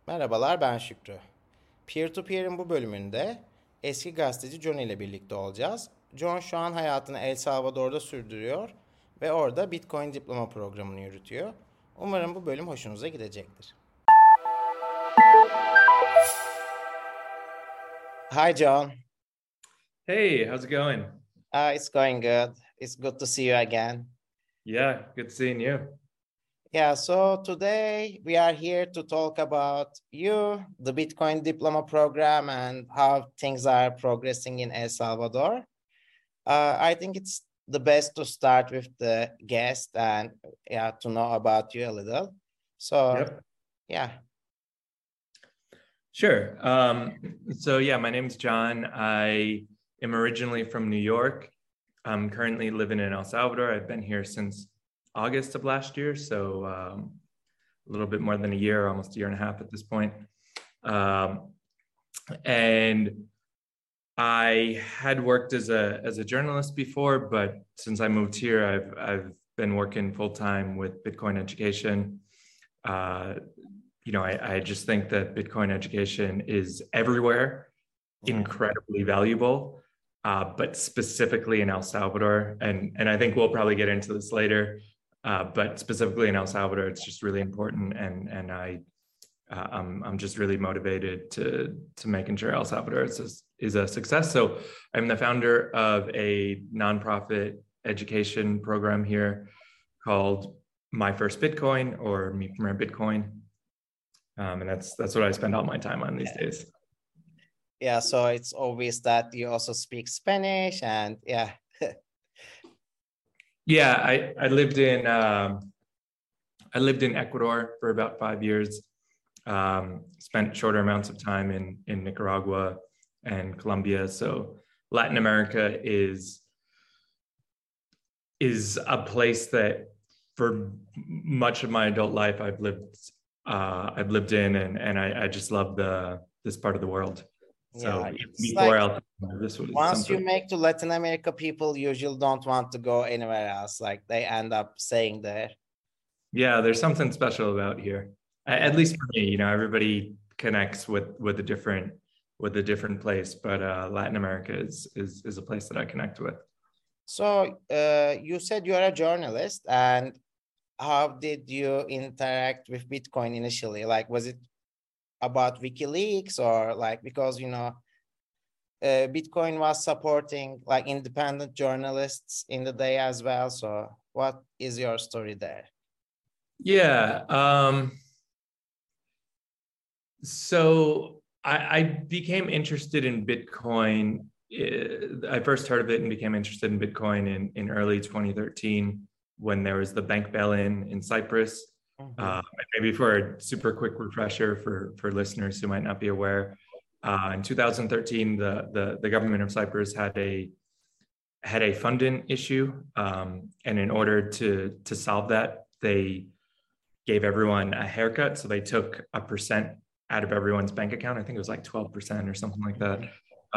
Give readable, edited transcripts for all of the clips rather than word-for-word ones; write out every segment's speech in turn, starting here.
Merhabalar, ben Şükrü. Peer-to-Peer'in bu bölümünde eski gazeteci John ile birlikte olacağız. John şu an hayatını El Salvador'da sürdürüyor ve orada Bitcoin diploma programını yürütüyor. Umarım bu bölüm hoşunuza gidecektir. Hi John. Hey, how's it going? It's going good. It's good to see you again. Yeah, good seeing you. Yeah, so today we are here to talk about you, the Bitcoin diploma program, and how things are progressing in El Salvador. I think it's the best to start with the guest and yeah, to know about you a little. So Yep. yeah. Sure. So yeah, my name's John. I am originally from New York. I'm currently living in El Salvador. I've been here since August of last year, so a little bit more than a year, almost a year and a half at this point. And I had worked as a journalist before, but since I moved here, I've been working full time with Bitcoin education. I just think that Bitcoin education is everywhere, incredibly valuable, but specifically in El Salvador, and I think we'll probably get into this later, but specifically in El Salvador, it's just really important, and I'm just really motivated to making sure El Salvador is a success. So I'm the founder of a nonprofit education program here called My First Bitcoin, or Mi Primer Bitcoin. And that's what I spend all my time on these days. Yeah, so it's obvious that you also speak Spanish, and yeah. Yeah, I lived in Ecuador for about 5 years. Spent shorter amounts of time in Nicaragua and Colombia. So Latin America is a place that for much of my adult life I've lived in, and I just love this part of the world. So Yeah, before this was once something. you make to Latin America, people usually don't want to go anywhere else. Like they end up staying there. Yeah, there's something special about here. At least for me, everybody connects with a different place, but Latin America is a place that I connect with. So you said you are a journalist, and how did you interact with Bitcoin initially? Like, was it about WikiLeaks, or like because Bitcoin was supporting like independent journalists in the day as well? So what is your story there? Yeah. So I became interested in Bitcoin. I first heard of it and became interested in Bitcoin in early 2013 when there was the bank bail-in in Cyprus. Maybe for a super quick refresher for listeners who might not be aware, in 2013, the government of Cyprus had a funding issue, and in order to solve that, they gave everyone a haircut. So they took a percent out of everyone's bank account. I think it was like 12% or something like that,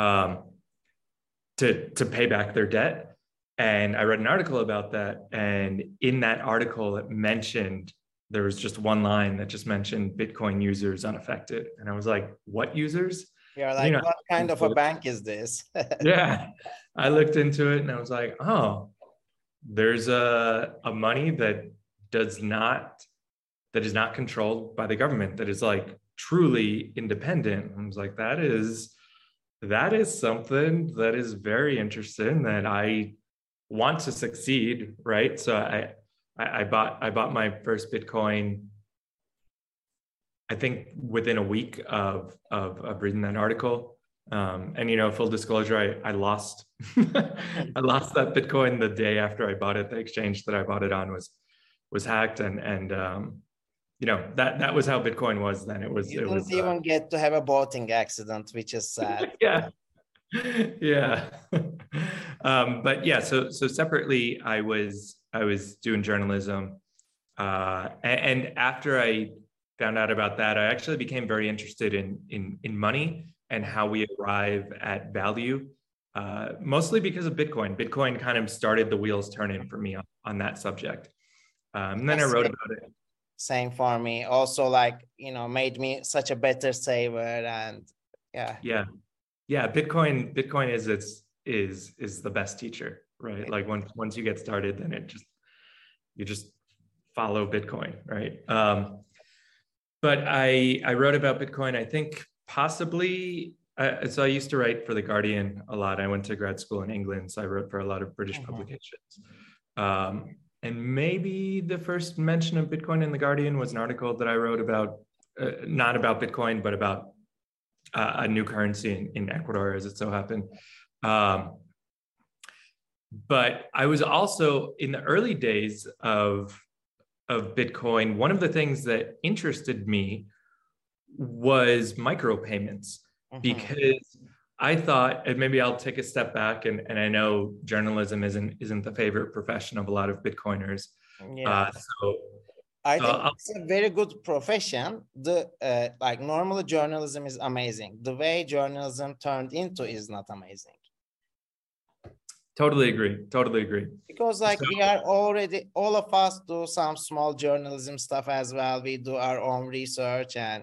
to pay back their debt. And I read an article about that. And in that article, it mentioned, there was just one line that just mentioned Bitcoin users unaffected. And I was like, what users? You're like, what kind of a bank is this? Yeah. I looked into it and I was like, oh, there's a money that is not controlled by the government, that is like truly independent. I was like, that is something that is very interesting, that I want to succeed, right? So I bought my first Bitcoin, I think within a week of reading that article. And full disclosure, I lost I lost that Bitcoin the day after I bought it. The exchange that I bought it on was hacked, and that was how Bitcoin was then. It was even get to have a boating accident, which is sad. Yeah. But yeah, so separately, I was doing journalism, and after I found out about that, I actually became very interested in money and how we arrive at value, mostly because of Bitcoin. Bitcoin kind of started the wheels turning for me on that subject. And then I wrote about it. same for me. Also, like, made me such a better saver. And yeah. Yeah. Bitcoin is the best teacher, right? Like once you get started, then you just follow Bitcoin, right? But I wrote about Bitcoin, I think possibly. So I used to write for The Guardian a lot. I went to grad school in England, so I wrote for a lot of British publications. And maybe the first mention of Bitcoin in The Guardian was an article that I wrote about, not about Bitcoin, but about a new currency in Ecuador, as it so happened. But I was also, in the early days of Bitcoin, one of the things that interested me was micropayments, because I thought, and maybe I'll take a step back, and I know journalism isn't the favorite profession of a lot of Bitcoiners. Yeah. I think it's a very good profession. Like normally journalism is amazing. The way journalism turned into is not amazing. Totally agree. Because like we are already, all of us do some small journalism stuff as well. We do our own research and,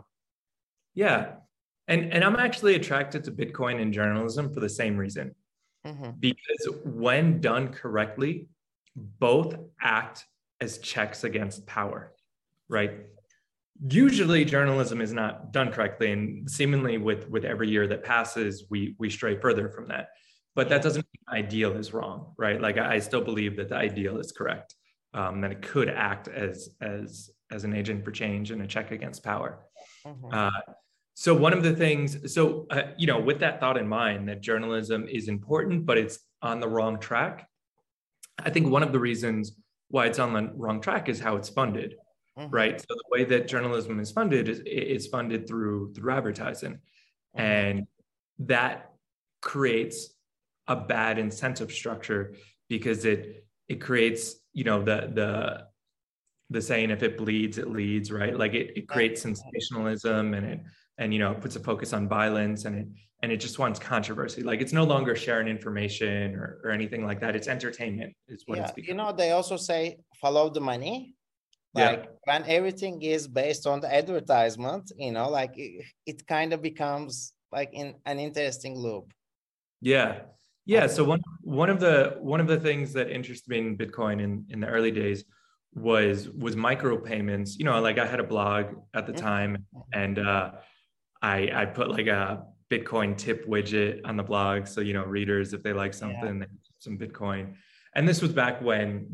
Yeah. And I'm actually attracted to Bitcoin and journalism for the same reason. Because when done correctly, both act as checks against power, right? Usually journalism is not done correctly, and seemingly with every year that passes, we stray further from that. But that doesn't mean the ideal is wrong, right? Like I still believe that the ideal is correct, that it could act as an agent for change and a check against power. So one of the things, with that thought in mind, that journalism is important, but it's on the wrong track. I think one of the reasons why it's on the wrong track is how it's funded, right? So the way that journalism is funded is funded through advertising, and that creates a bad incentive structure, because it creates, the saying, if it bleeds, it leads, right? Like it creates sensationalism, and it puts a focus on violence, and it just wants controversy. Like it's no longer sharing information or anything like that. It's entertainment is what it's become. They also say follow the money. Like when everything is based on the advertisement, like it kind of becomes like in an interesting loop. Yeah. So one of the things that interested me in Bitcoin in the early days was micropayments. Like I had a blog at the time, and I put like a Bitcoin tip widget on the blog. So, readers, if they like something, they some Bitcoin. And this was back when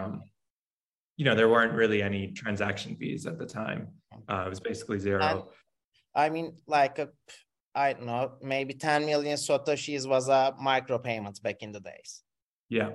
there weren't really any transaction fees at the time. It was basically zero. And, I mean, like I don't know, maybe 10 million Satoshis was a micropayment back in the days. Yeah.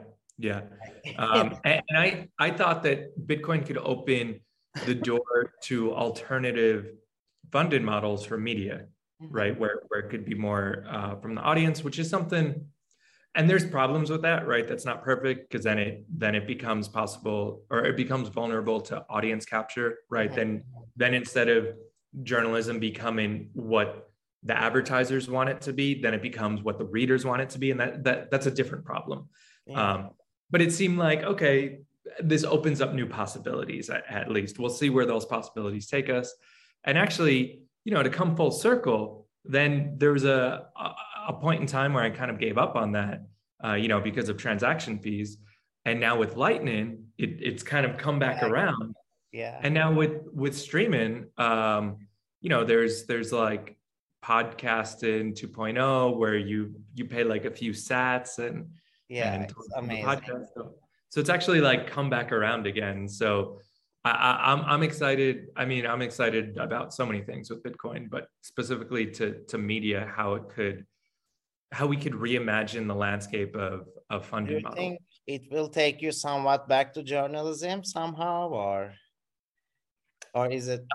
And I thought that Bitcoin could open the door to alternative funded models for media, right? Where it could be more from the audience, which is something, and there's problems with that, right? That's not perfect, because then it becomes possible, or it becomes vulnerable to audience capture, right? Then instead of journalism becoming what the advertisers want it to be, then it becomes what the readers want it to be, and that's a different problem. But it seemed like, okay, this opens up new possibilities. At least we'll see where those possibilities take us. And actually, to come full circle, then there was a point in time where I kind of gave up on that, because of transaction fees. And now with Lightning, it's kind of come back around. Yeah. And now with streaming, there's like podcasting 2.0, where you pay like a few sats and it's amazing. So it's actually like come back around again. So I'm excited. I mean, I'm excited about so many things with Bitcoin, but specifically to media, how we could reimagine the landscape of funding models. Do you think it will take you somewhat back to journalism somehow, or is it?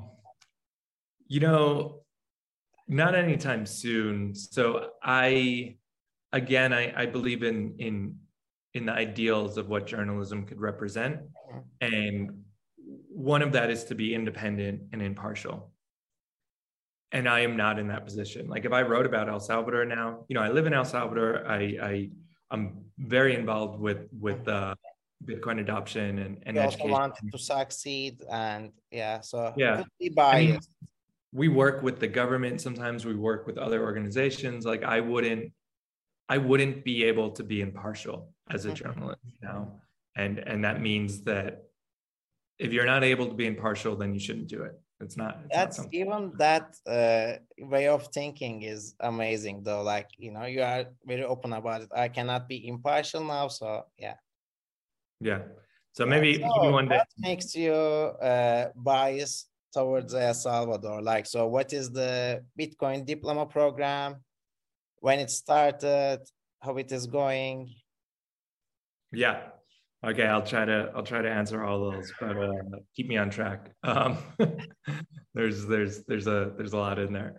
Not anytime soon. So I believe in the ideals of what journalism could represent, and one of that is to be independent and impartial. And I am not in that position. Like if I wrote about El Salvador now, I live in El Salvador. I'm very involved with Bitcoin adoption and You also education. wanted to succeed, and yeah, so Yeah. could be I mean, biased. we work with the government. Sometimes we work with other organizations. Like I wouldn't be able to be impartial as a journalist now. And that means that if you're not able to be impartial, then you shouldn't do it. It's not something. Even that way of thinking is amazing though. Like, you know, you are very open about it. I cannot be impartial now. So yeah. Yeah. So maybe So one day. what makes you biased towards El Salvador? Like, so what is the Bitcoin diploma program? When it started, how it is going? Yeah. Okay, I'll try to answer all those, but keep me on track. There's a lot in there.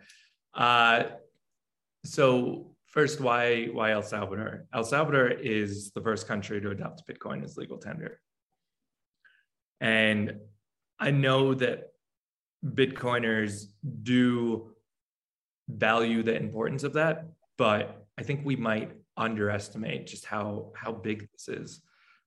So first, why El Salvador? El Salvador is the first country to adopt Bitcoin as legal tender, and I know that Bitcoiners do value the importance of that, but I think we might underestimate just how big this is.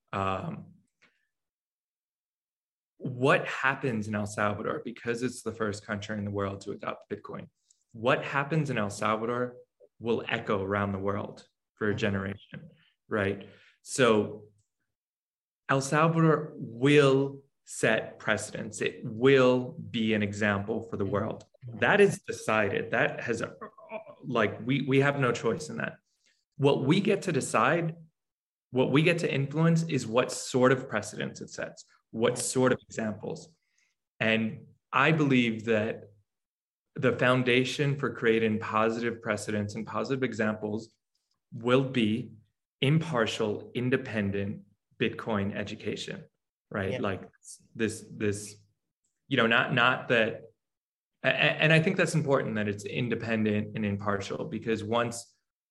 What happens in El Salvador, because it's the first country in the world to adopt Bitcoin, what happens in El Salvador will echo around the world for a generation, right? So El Salvador will set precedents. It will be an example for the world. That is decided. That has, like, we have no choice in that. What we get to decide, what we get to influence is what sort of precedents it sets, what sort of examples. And I believe that the foundation for creating positive precedents and positive examples will be impartial, independent Bitcoin education, right? Yeah. Like this, you know, not that, and I think that's important that it's independent and impartial, because once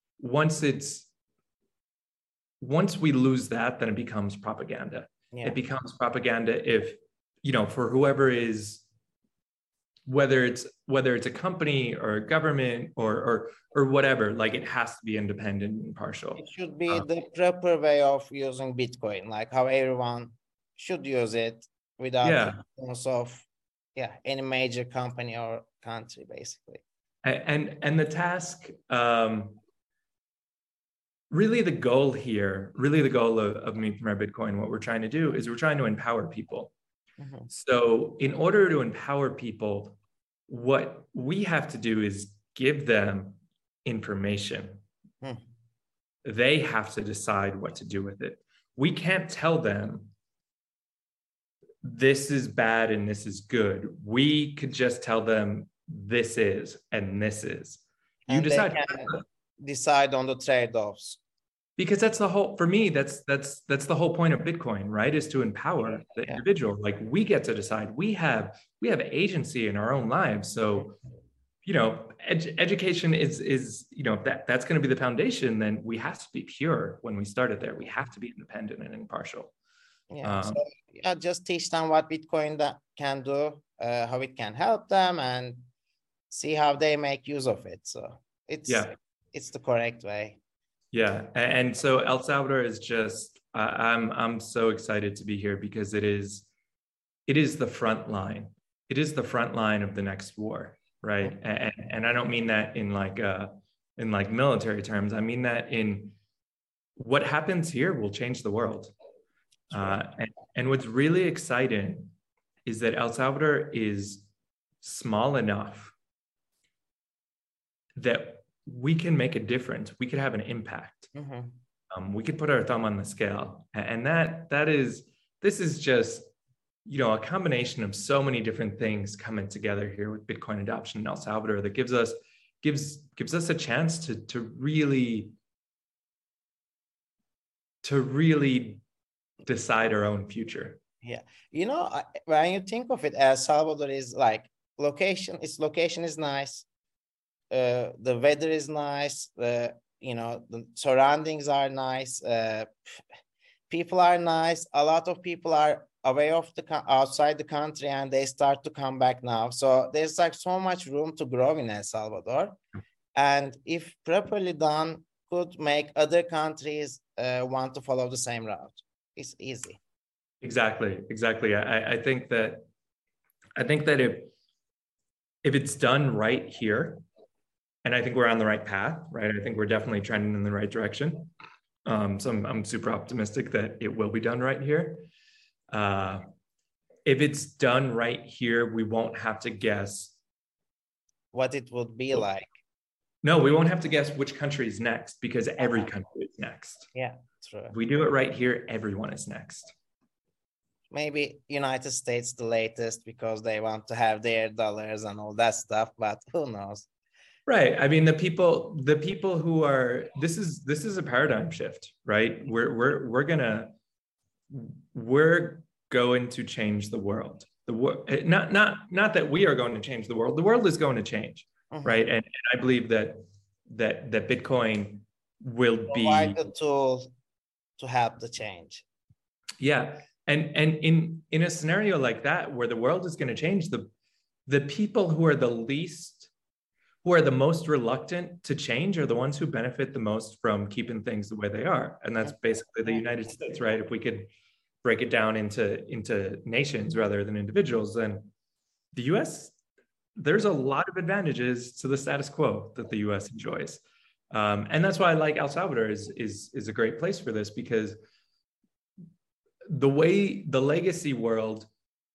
we lose that, then it becomes propaganda. Yeah. It becomes propaganda if, you know, for whoever is, whether it's a company or a government or whatever, like it has to be independent and impartial. It should be the proper way of using Bitcoin, like how everyone should use it without the influence of any major company or country, basically. And the task, really the goal here, really the goal of Me Premier Bitcoin, what we're trying to do is we're trying to empower people. Mm-hmm. So in order to empower people, what we have to do is give them information. They have to decide what to do with it. We can't tell them this is bad and this is good. We could just tell them this is and this is. You decide. They can decide on the trade-offs. Because that's the whole, for me, that's the whole point of Bitcoin, right? Is to empower the individual. Like we get to decide. We have agency in our own lives. So, you know, education is you know, that's going to be the foundation. Then we have to be pure when we started there. We have to be independent and impartial. Just teach them what Bitcoin can do, how it can help them, and see how they make use of it. So it's the correct way. Yeah, and so El Salvador is just, I'm so excited to be here because it is the front line. It is the front line of the next war, right? And I don't mean that in like military terms. I mean that in what happens here will change the world. And what's really exciting is that El Salvador is small enough that we can make a difference. We could have an impact. Mm-hmm. We could put our thumb on the scale. And this is just, you know, a combination of so many different things coming together here with Bitcoin adoption in El Salvador that gives us a chance to really decide our own future. Yeah. You know, when you think of it, El Salvador is like location is nice. The weather is nice. You know, the surroundings are nice. People are nice. A lot of people are away of outside the country, and they start to come back now. So there's like so much room to grow in El Salvador, and if properly done, could make other countries want to follow the same route. It's easy. Exactly. I think that if it's done right here, and I think we're on the right path, right? I think we're definitely trending in the right direction. So I'm super optimistic that it will be done right here. If it's done right here, we won't have to guess what it would be like. No, we won't have to guess which country is next because every country is next. Yeah, true. If we do it right here, everyone is next. Maybe United States the latest because they want to have their dollars and all that stuff, but who knows? Right. I mean, the people who are this is a paradigm shift, right? We're going to change the world. Not that we are going to change the world. The world is going to change, right? And I believe that Bitcoin will provide the tool to help the change. Yeah. And in a scenario like that, where the world is going to change, the people who are the most reluctant to change are the ones who benefit the most from keeping things the way they are. And that's basically the United States, right? If we could break it down into nations rather than individuals, then the US, there's a lot of advantages to the status quo that the US enjoys. And that's why I like El Salvador is a great place for this, because the way the legacy world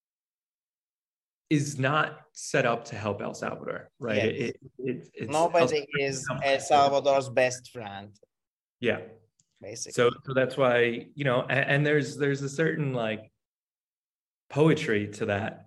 is not set up to help El Salvador, right? Yes. Nobody is El Salvador's best friend. Yeah, basically. So that's why, and there's a certain like poetry to that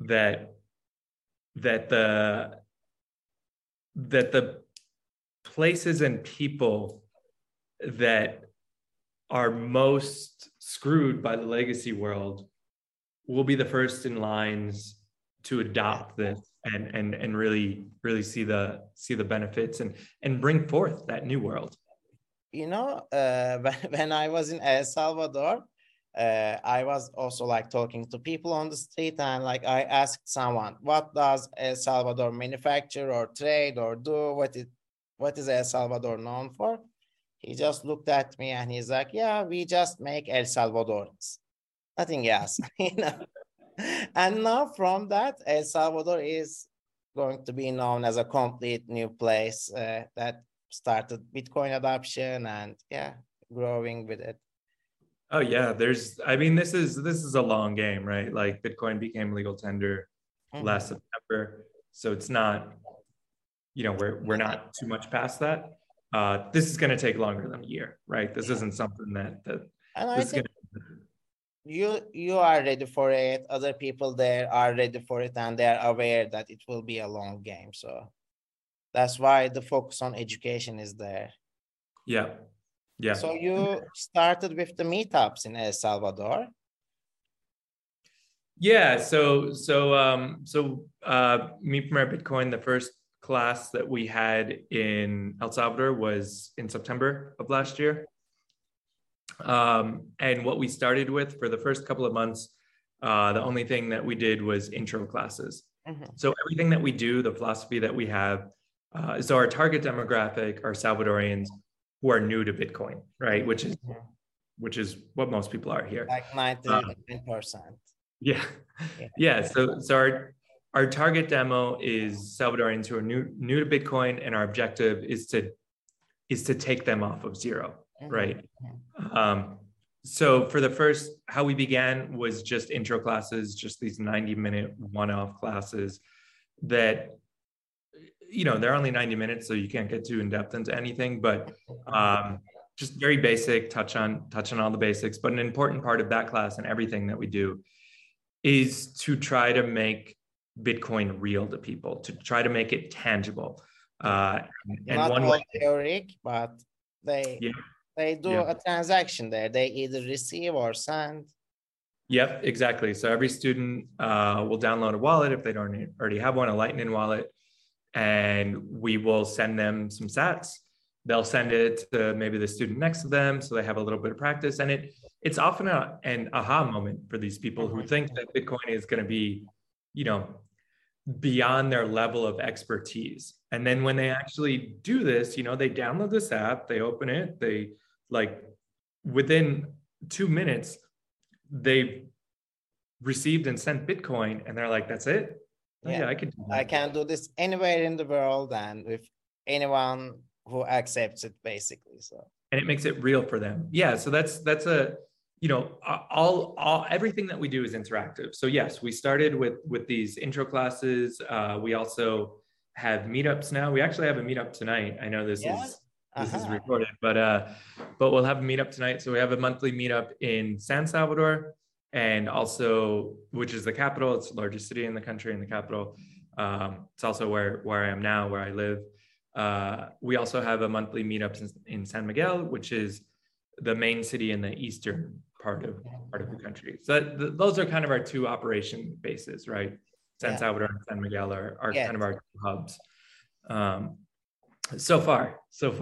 the places and people that are most screwed by the legacy world will be the first in lines to adopt this and really see the benefits and bring forth that new world. When I was in El Salvador, I was also like talking to people on the street, and like I asked someone, what does El Salvador manufacture or trade or do? What is El Salvador known for? He just looked at me and he's like, yeah, we just make El Salvadorans, nothing else. And now from that, El Salvador is going to be known as a complete new place that started Bitcoin adoption and growing with it. Oh yeah, this is a long game, right? Like Bitcoin became legal tender last September, so it's not, we're not too much past that. This is going to take longer than a year, right? This isn't something that and I think you are ready for it. Other people there are ready for it, and they are aware that it will be a long game. So that's why the focus on education is there. Yeah. So you started with the meetups in El Salvador. Yeah. So Meet Premier Bitcoin, the first class that we had in El Salvador was in September of last year. And what we started with for the first couple of months, the only thing that we did was intro classes. So everything that we do, the philosophy that we have, so our target demographic are Salvadorians who are new to Bitcoin, right? Which is what most people are here. Like 99%. Yeah. So our target demo is Salvadorians who are new to Bitcoin, and our objective is to take them off of zero, right? So for the first, how we began was just intro classes, just these 90-minute one-off classes that, they're only 90 minutes, so you can't get too in-depth into anything, but just very basic, touch on all the basics. But an important part of that class and everything that we do is to try to make Bitcoin real to people, to try to make it tangible. And not one all theoretic, but they do a transaction there. They either receive or send. Yep, exactly. So every student will download a wallet if they don't already have one, a Lightning wallet, and we will send them some sats. They'll send it to maybe the student next to them, so they have a little bit of practice. And it's often an aha moment for these people who think that Bitcoin is going to be, beyond their level of expertise. And then when they actually do this, they download this app, they open it, they within 2 minutes, they received and sent Bitcoin, and they're like, "That's it? Oh, yeah, I can do that. I can do this anywhere in the world and with anyone who accepts it, basically." So, and it makes it real for them. Yeah, so that's a, you know, all everything that we do is interactive. So yes, we started with these intro classes. We also have meetups now. We actually have a meetup tonight. I know this is recorded, but we'll have a meetup tonight. So we have a monthly meetup in San Salvador, and also, which is the capital. It's the largest city in the country, in the capital. It's also where I am now, where I live. We also have a monthly meetup in San Miguel, which is the main city in the eastern part of the country. So those are kind of our two operation bases, right? San Salvador and San Miguel are kind of our two hubs. So far.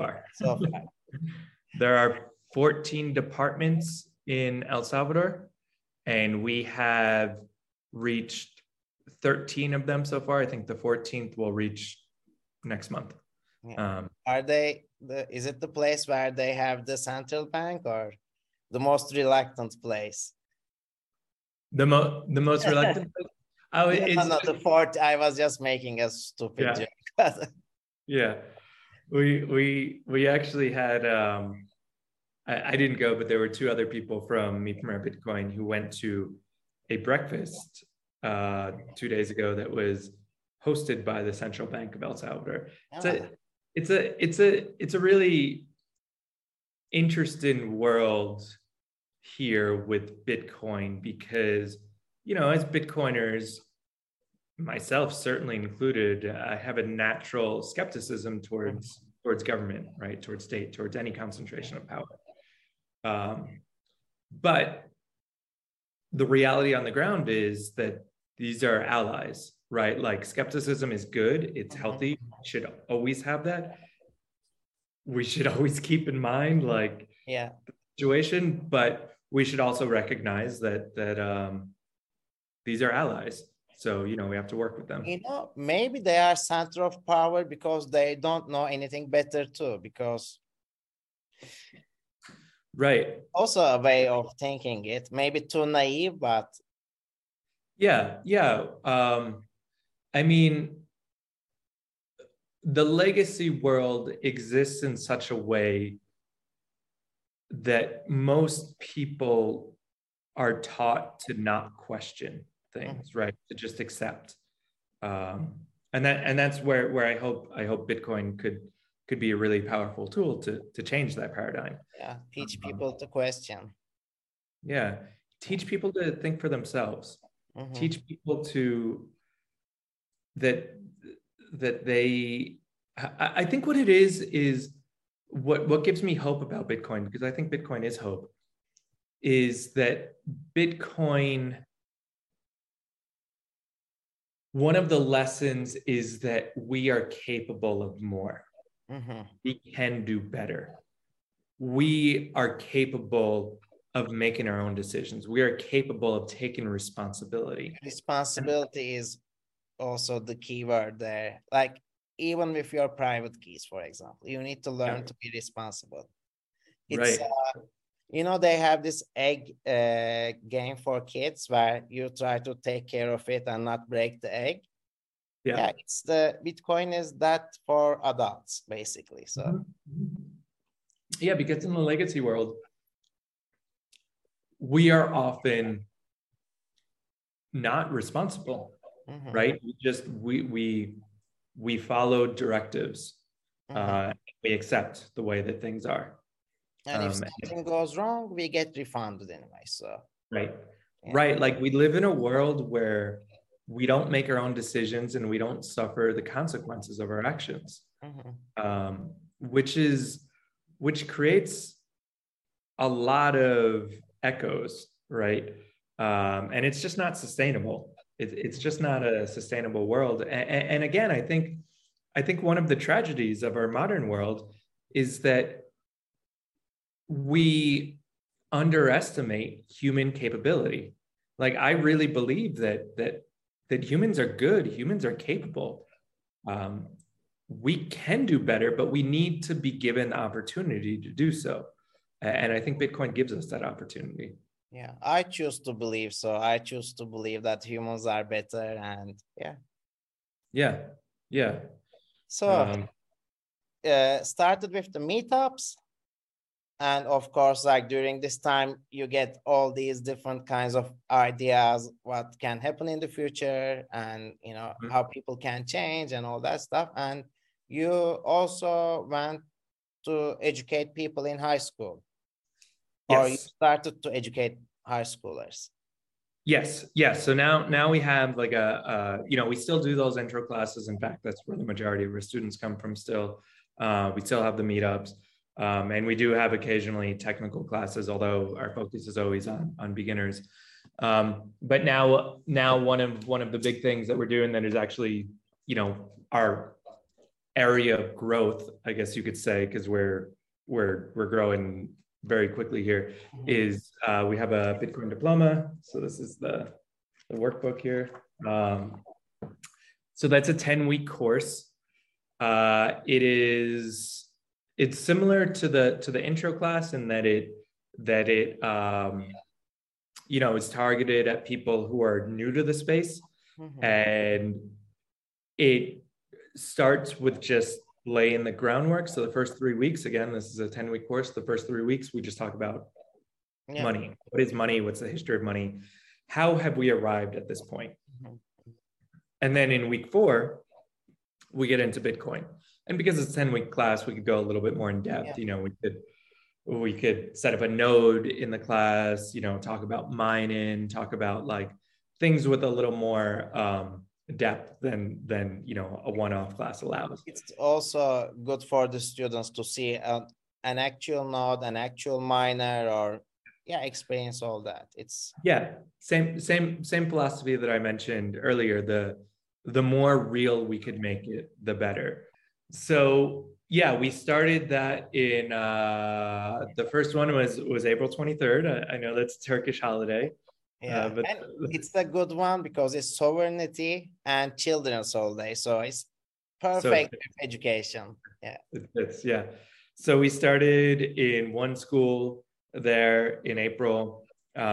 There are 14 departments in El Salvador, and we have reached 13 of them so far. I think the 14th will reach next month. Are they is it the place where they have the central bank, or the most reluctant place? The most reluctant place? The fourth. I was just making a stupid joke. Yeah, we actually had I didn't go, but there were two other people from Mi Primer Bitcoin who went to a breakfast 2 days ago that was hosted by the Central Bank of El Salvador. It's a really interesting world here with Bitcoin, because, you know, as Bitcoiners, myself certainly included, I have a natural skepticism towards government, right? Towards state, towards any concentration of power. But the reality on the ground is that these are allies, right? Like, skepticism is good. It's healthy. We should always have that. We should always keep in mind, like, the situation, but we should also recognize that these are allies. So, you know, we have to work with them. You know, maybe they are center of power because they don't know anything better too, because right. Also a way of thinking it, maybe too naive, but yeah. I mean, the legacy world exists in such a way that most people are taught to not question things, right? To just accept. And that's where I hope Bitcoin could be a really powerful tool to change that paradigm. Yeah, teach people to question. Yeah, teach people to think for themselves. Teach people to that they. I think what it is what gives me hope about Bitcoin, because I think Bitcoin is hope, is that Bitcoin, one of the lessons is that we are capable of more. We can do better. We are capable of making our own decisions. We are capable of taking responsibility. Responsibility is also the key word there. Like, even with your private keys, for example, you need to learn to be responsible. It's, you know, they have this egg game for kids where you try to take care of it and not break the egg. Yeah, it's the Bitcoin is that for adults, basically. So yeah, because in the legacy world, we are often not responsible, right? We follow directives. We accept the way that things are. And if something goes wrong, we get refunded anyway. So right. Like, we live in a world where we don't make our own decisions and we don't suffer the consequences of our actions, which creates a lot of echoes, right? And it's just not sustainable. It's just not a sustainable world. And again, I think one of the tragedies of our modern world is that we underestimate human capability. Like, I really believe that humans are good. Humans are capable. We can do better, but we need to be given the opportunity to do so. And I think Bitcoin gives us that opportunity. Yeah, I choose to believe so. I choose to believe that humans are better, and yeah. Yeah, yeah. So started with the meetups, and of course, like during this time, you get all these different kinds of ideas, what can happen in the future, and you know Mhm. how people can change and all that stuff. And you also went to educate people in high school, or you Yes. started to educate high schoolers. Yes, yes. So now we have like you know, we still do those intro classes. In fact, that's where the majority of our students come from still. We still have the meetups. And we do have occasionally technical classes, although our focus is always on beginners. But now one of the big things that we're doing that is actually, you know, our area of growth, I guess you could say, because we're growing very quickly here, is we have a Bitcoin diploma. So this is the workbook here. So that's a 10-week course. It's similar to the intro class in that it you know, is targeted at people who are new to the space, and it starts with just laying the groundwork. So the first 3 weeks, again, this is a 10-week course. The first 3 weeks, we just talk about Yeah. money. What is money? What's the history of money? How have we arrived at this point? And then in week 4, we get into Bitcoin. And because it's a 10-week class, we could go a little bit more in depth. Yeah. You know, we could set up a node in the class, you know, talk about mining, talk about like things with a little more depth than you know a one-off class allows. It's also good for the students to see an actual node, an actual miner, or yeah, experience all that. It's Same philosophy that I mentioned earlier. The more real we could make it, the better. So yeah, we started that in the first one was April 23rd. I know that's a Turkish holiday. yeah, But and it's a good one because it's sovereignty and children's holiday, so it's so perfect education. Yeah, it's yeah. So we started in one school there in April.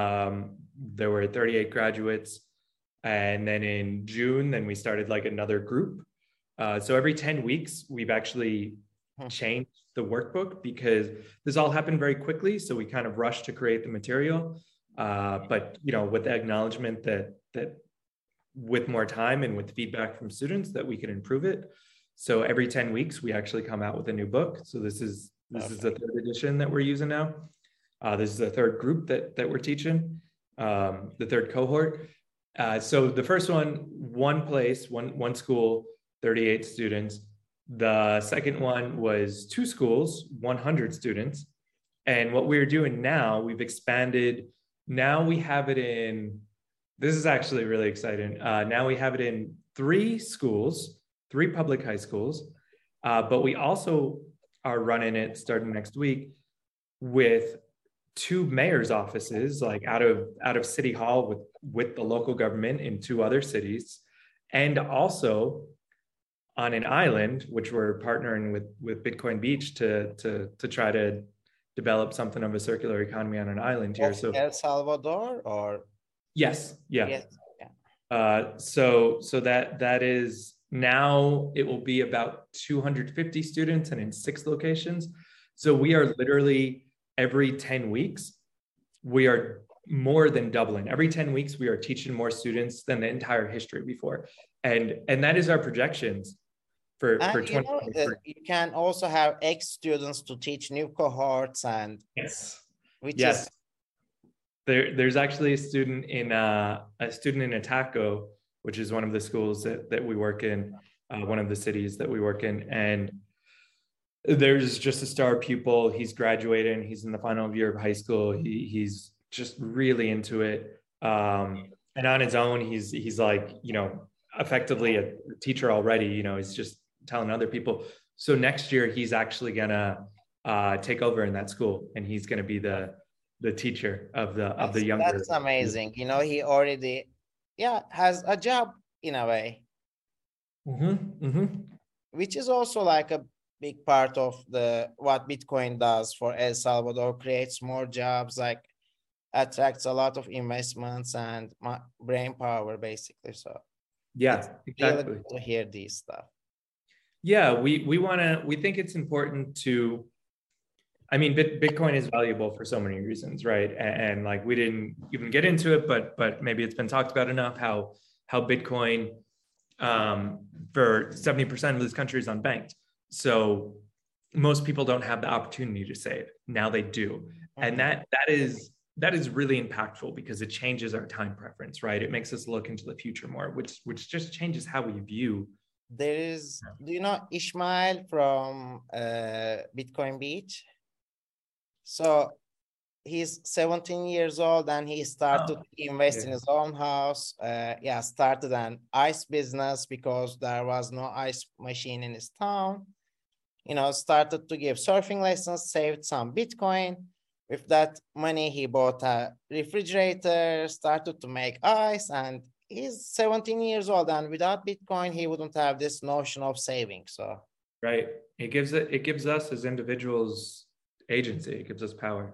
There were 38 graduates, and then in June, then we started like another group. So every 10 weeks, we've actually changed the workbook because this all happened very quickly. So we kind of rushed to create the material. But you know, with the acknowledgement that with more time and with feedback from students that we can improve it. So every 10 weeks, we actually come out with a new book. So this is the 3rd edition that we're using now. This is the 3rd group that we're teaching, the 3rd cohort. So the first one place, one school, 38 students. The second one was 2 schools, 100 students. And what we're doing now, we've expanded. Now we have it in, this is actually really exciting. Now we have it in 3 schools, 3 public high schools, but we also are running it starting next week with 2 mayor's offices, like out of City Hall with the local government in 2 other cities, and also on an island, which we're partnering with Bitcoin Beach to try to develop something of a circular economy on an island here. So El Salvador, or yes, yeah. yes, yeah. So that is, now it will be about 250 students and in 6 locations. So we are literally every 10 weeks, we are more than doubling. Every 10 weeks, we are teaching more students than the entire history before. And that is our projections for 2023. You can also have ex-students to teach new cohorts, and yes, which yes. is There's actually a student in Ataco, which is one of the schools that we work in, one of the cities that we work in, and there's just a star pupil. He's graduating. He's in the final year of high school. He's just really into it, and on his own, he's like, you know, effectively a teacher already. You know, he's just telling other people. So next year, he's actually gonna take over in that school, and he's gonna be the teacher of the younger. That's amazing. You know, he already has a job in a way, which is also like a big part of the what Bitcoin does for El Salvador, creates more jobs. Like attracts a lot of investments and brain power, basically. So it's Yeah, really exactly. good to hear these stuff. Yeah, we think it's important to, I mean, Bitcoin is valuable for so many reasons, right? And like we didn't even get into it, but maybe it's been talked about enough how Bitcoin, for 70% of this country is unbanked. So most people don't have the opportunity to save. Now they do, and that is really impactful because it changes our time preference, right? It makes us look into the future more, which just changes how we view. There is, do you know Ishmael from Bitcoin Beach? So he's 17 years old and he started to invest in his own house. Yeah, started an ice business because there was no ice machine in his town. You know, started to give surfing lessons, saved some Bitcoin. With that money, he bought a refrigerator, started to make ice, and he's 17 years old. And without Bitcoin, he wouldn't have this notion of saving. So, right, it gives us as individuals agency. It gives us power.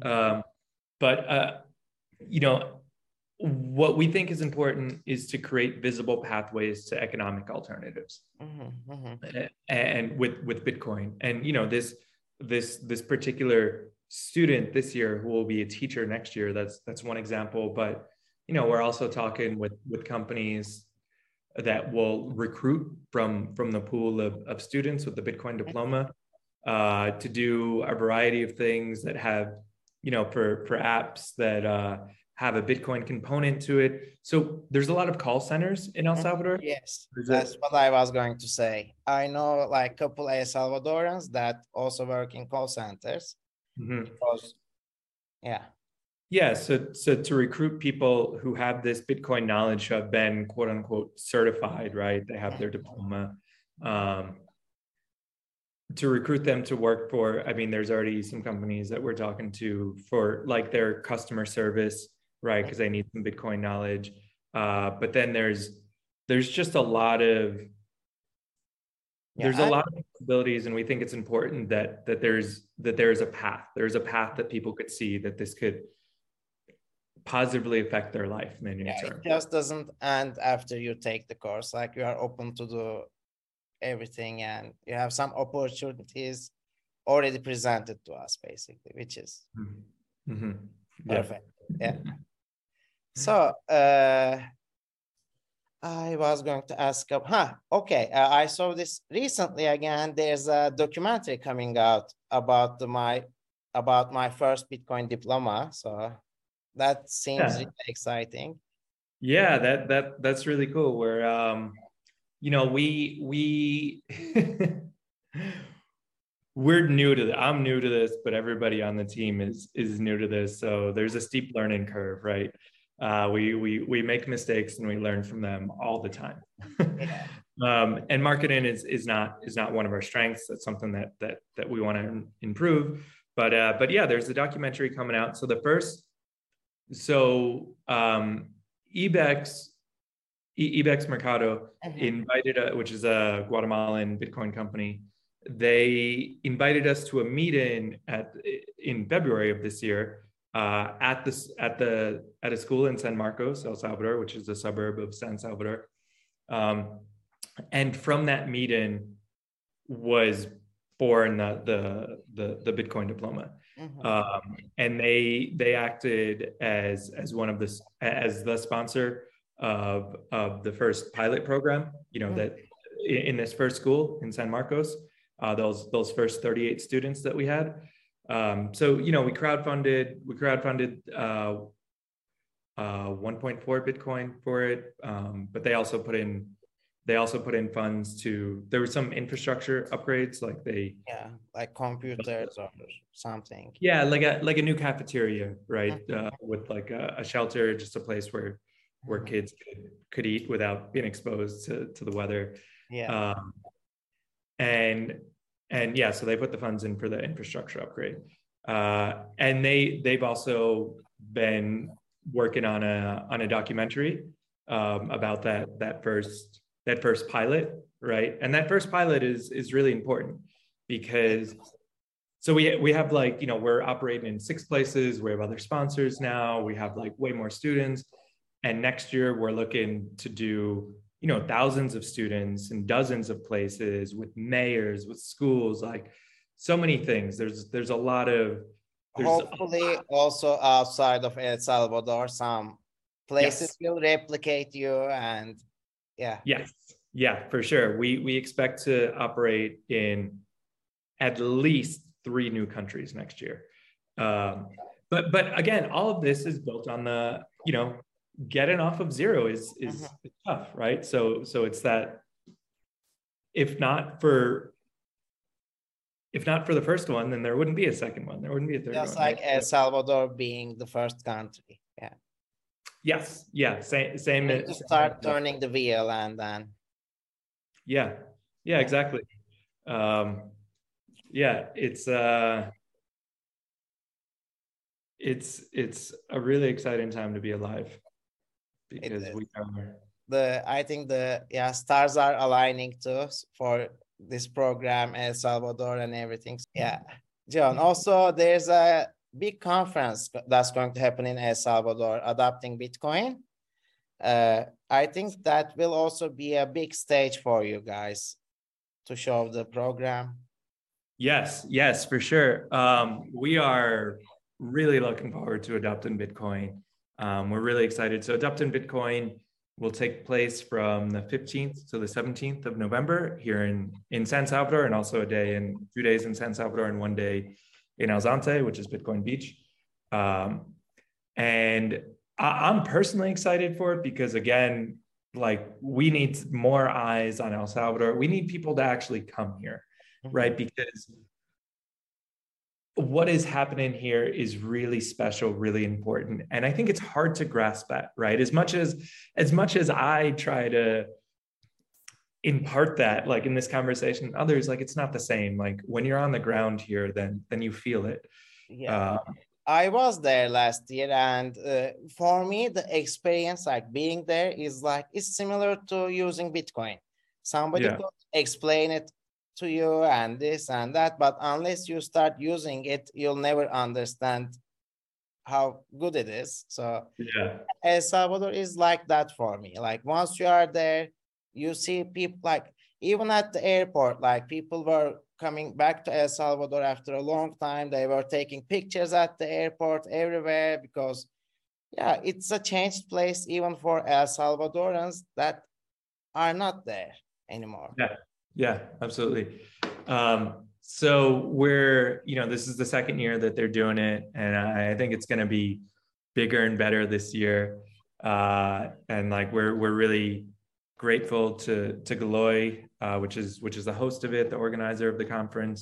But you know, what we think is important is to create visible pathways to economic alternatives, and with Bitcoin. And you know, this particular student this year who will be a teacher next year, that's one example. But you know, we're also talking with companies that will recruit from the pool of students with the Bitcoin diploma, to do a variety of things that have, you know, for apps that have a Bitcoin component to it. So there's a lot of call centers in El Salvador. Yes, that's what I was going to say. I know like a couple El Salvadorans that also work in call centers. Because, yeah. Yeah, so to recruit people who have this Bitcoin knowledge, who have been quote unquote certified, right? They have their diploma. To recruit them to work for, I mean, there's already some companies that we're talking to for like their customer service, right? Because they need some Bitcoin knowledge. But then there's just a lot of a lot of possibilities, and we think it's important that there's a path. There's a path that people could see that this could positively affect their life in the near term. It just doesn't end after you take the course. Like you are open to do everything, and you have some opportunities already presented to us, basically, which is perfect. Yeah. So I was going to ask, okay. I saw this recently again. There's a documentary coming out about my first Bitcoin diploma. So that seems really exciting. Yeah, that's really cool. Where you know, we we're new to that. I'm new to this, but everybody on the team is new to this. So there's a steep learning curve, right? We make mistakes and we learn from them all the time. And marketing is not one of our strengths. That's something that we want to improve. But yeah, there's a documentary coming out. So Ibex Mercado invited, which is a Guatemalan Bitcoin company. They invited us to a meeting in February of this year, at a school in San Marcos, El Salvador, which is a suburb of San Salvador. And from that meeting was born the Bitcoin diploma. And they acted as the sponsor of the first pilot program, you know, that in this first school in San Marcos, those first 38 students that we had. So, you know, we crowdfunded 1.4 Bitcoin for it. But they also put in funds to, there were some infrastructure upgrades, like computers or something. Yeah, like a new cafeteria, right? With like a shelter, just a place where kids could eat without being exposed to the weather. Yeah. And yeah, so they put the funds in for the infrastructure upgrade. And they've also been working on a documentary about that first pilot, right? And that first pilot is really important because so we have like, we're operating in 6 places. We have other sponsors now. We have like way more students. And next year we're looking to do, thousands of students in dozens of places with mayors, with schools, like so many things. There's a lot of, hopefully also outside of El Salvador, some places will replicate you, and Yes. Yeah, for sure. We expect to operate in at least 3 new countries next year. But again, all of this is built on the, getting off of zero is tough, right? So it's that if not for the first one, then there wouldn't be a second one. There wouldn't be a third one. Just like El Salvador being the first country. Yeah. Yes. Yeah. Same. To start turning the wheel and then. Yeah. Exactly. It's a really exciting time to be alive, because I think stars are aligning too for this program, El Salvador and everything. Yeah. John, also there's a big conference that's going to happen in El Salvador, Adopting Bitcoin. I think that will also be a big stage for you guys to show the program. Yes, for sure. We are really looking forward to Adopting Bitcoin. We're really excited. So Adopting Bitcoin will take place from the 15th to the 17th of November here in San Salvador, and also 2 days in San Salvador and 1 day in El Zante, which is Bitcoin Beach. And I'm personally excited for it because, again, like, we need more eyes on El Salvador. We need people to actually come here, right? Because what is happening here is really special, really important. And I think it's hard to grasp that, right? As much as I try to impart that, like in this conversation, others, like, it's not the same. Like, when you're on the ground here, then you feel it. Yeah. I was there last year, and for me, the experience, like being there, is similar to using Bitcoin. Somebody could explain it to you and this and that, but unless you start using it, you'll never understand how good it is. So El Salvador is like that for me. Like, once you are there, you see people, like, even at the airport, like, people were coming back to El Salvador after a long time. They were taking pictures at the airport everywhere, because it's a changed place even for El Salvadorans that are not there anymore. Yeah, absolutely. So we're, this is the second year that they're doing it, and I think it's going to be bigger and better this year. And like, we're really grateful to Galoy, which is the host of it, the organizer of the conference.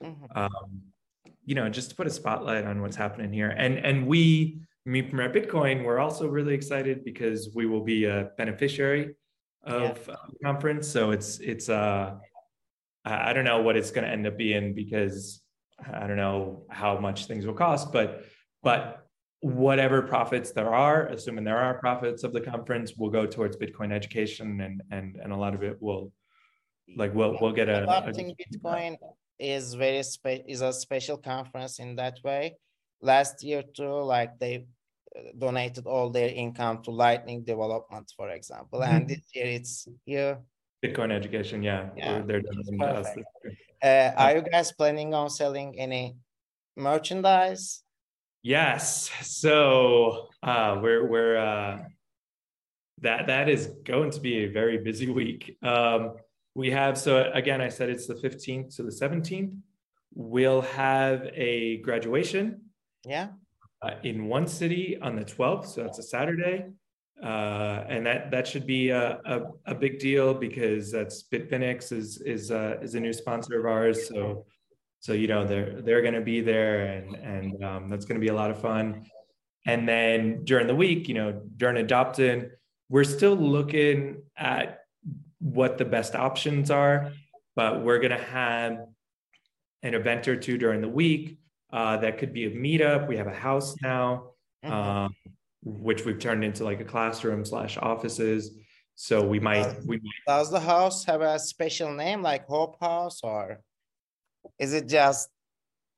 Just to put a spotlight on what's happening here. And we, Me Premier Bitcoin, we're also really excited because we will be a beneficiary of the conference. So it's I don't know what it's going to end up being, because I don't know how much things will cost, but whatever profits there are, assuming there are profits of the conference, will go towards Bitcoin education, and a lot of it will, like, we'll get Adopting Bitcoin is is a special conference in that way. Last year too, like, they donated all their income to Lightning development, for example, and this year it's Bitcoin education. They're doing to us. Are you guys planning on selling any merchandise? Yes. So we're that is going to be a very busy week. We have, so again, I said it's the 15th to the 17th. We'll have a graduation. In one city on the 12th, so that's a Saturday. And that should be a big deal, because that's Bitfinex is a new sponsor of ours. So they're going to be there, and that's going to be a lot of fun. And then during the week, during Adopting, we're still looking at what the best options are, but we're going to have an event or two during the week. That could be a meetup. We have a house now, which we've turned into like a classroom / offices. So we might. Does the house have a special name, like Hope House, or is it just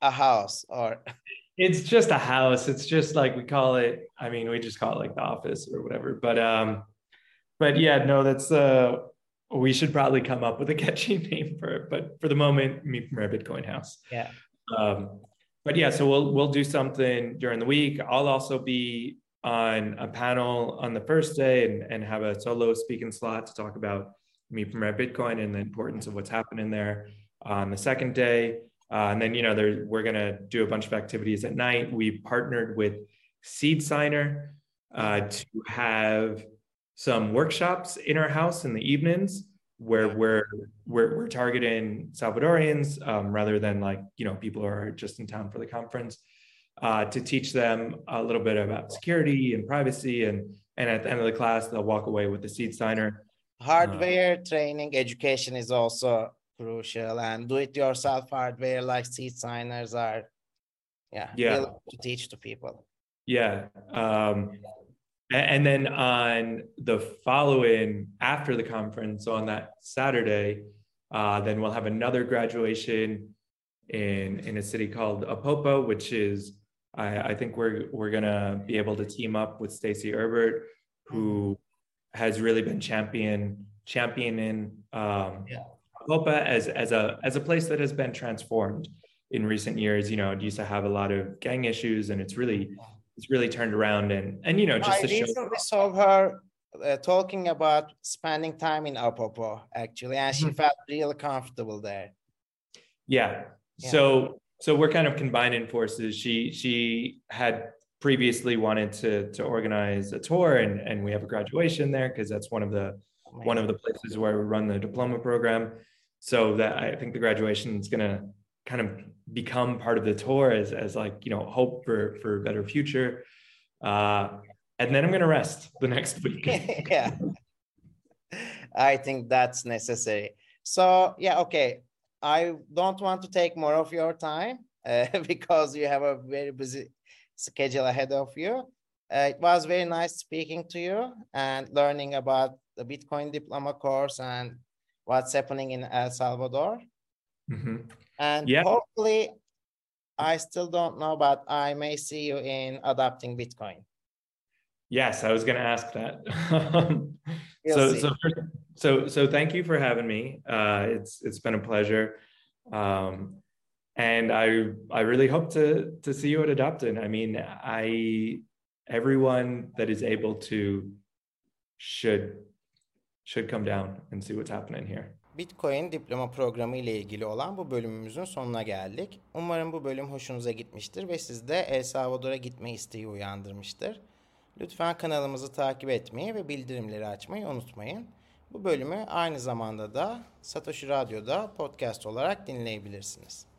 a house or? It's just a house. It's just like we call it. I mean, we just call it like the office or whatever. But yeah, no, that's we should probably come up with a catchy name for it. But for the moment, Meet from Rare Bitcoin House. Yeah. But yeah, so we'll do something during the week. I'll also be on a panel on the first day and have a solo speaking slot to talk about Meet from Rare Bitcoin and the importance of what's happening there on the second day. And then, we're going to do a bunch of activities at night. We partnered with Seed Signer to have some workshops in our house in the evenings where we're targeting Salvadorians rather than people who are just in town for the conference to teach them a little bit about security and privacy. And at the end of the class, they'll walk away with the Seed Signer. Hardware training education is also crucial, and do-it-yourself hardware like Seed Signers are really to teach to people. Yeah. And then on the following, after the conference, on that Saturday, then we'll have another graduation in a city called Apopa, which is, I think we're gonna be able to team up with Stacey Herbert, who has really been championing Apopa as a place that has been transformed in recent years. It used to have a lot of gang issues, and it's really turned around and just to show. I recently saw her talking about spending time in Apopa actually, and she felt really comfortable there. Yeah. So we're kind of combining forces. She had previously wanted to organize a tour, and we have a graduation there because that's one of the places where we run the diploma program. So that I think the graduation is going to kind of become part of the tour as hope for a better future. And then I'm going to rest the next week. Yeah, I think that's necessary. So okay. I don't want to take more of your time because you have a very busy schedule ahead of you. It was very nice speaking to you and learning about the Bitcoin Diploma course and what's happening in El Salvador. Mm-hmm. And hopefully, I still don't know, but I may see you in adopting Bitcoin. Yes, I was going to ask that. So thank you for having me. It's been a pleasure. And I really hope to see you at Adopted. I mean, everyone that is able to should come down and see what's happening here. Bitcoin diploma programı ile ilgili olan bu bölümümüzün sonuna geldik. Umarım bu bölüm hoşunuza gitmiştir ve sizde El Salvador'a gitme isteği uyandırmıştır. Lütfen kanalımızı takip etmeyi ve bildirimleri açmayı unutmayın. Bu bölümü aynı zamanda da Satoshi Radyo'da podcast olarak dinleyebilirsiniz.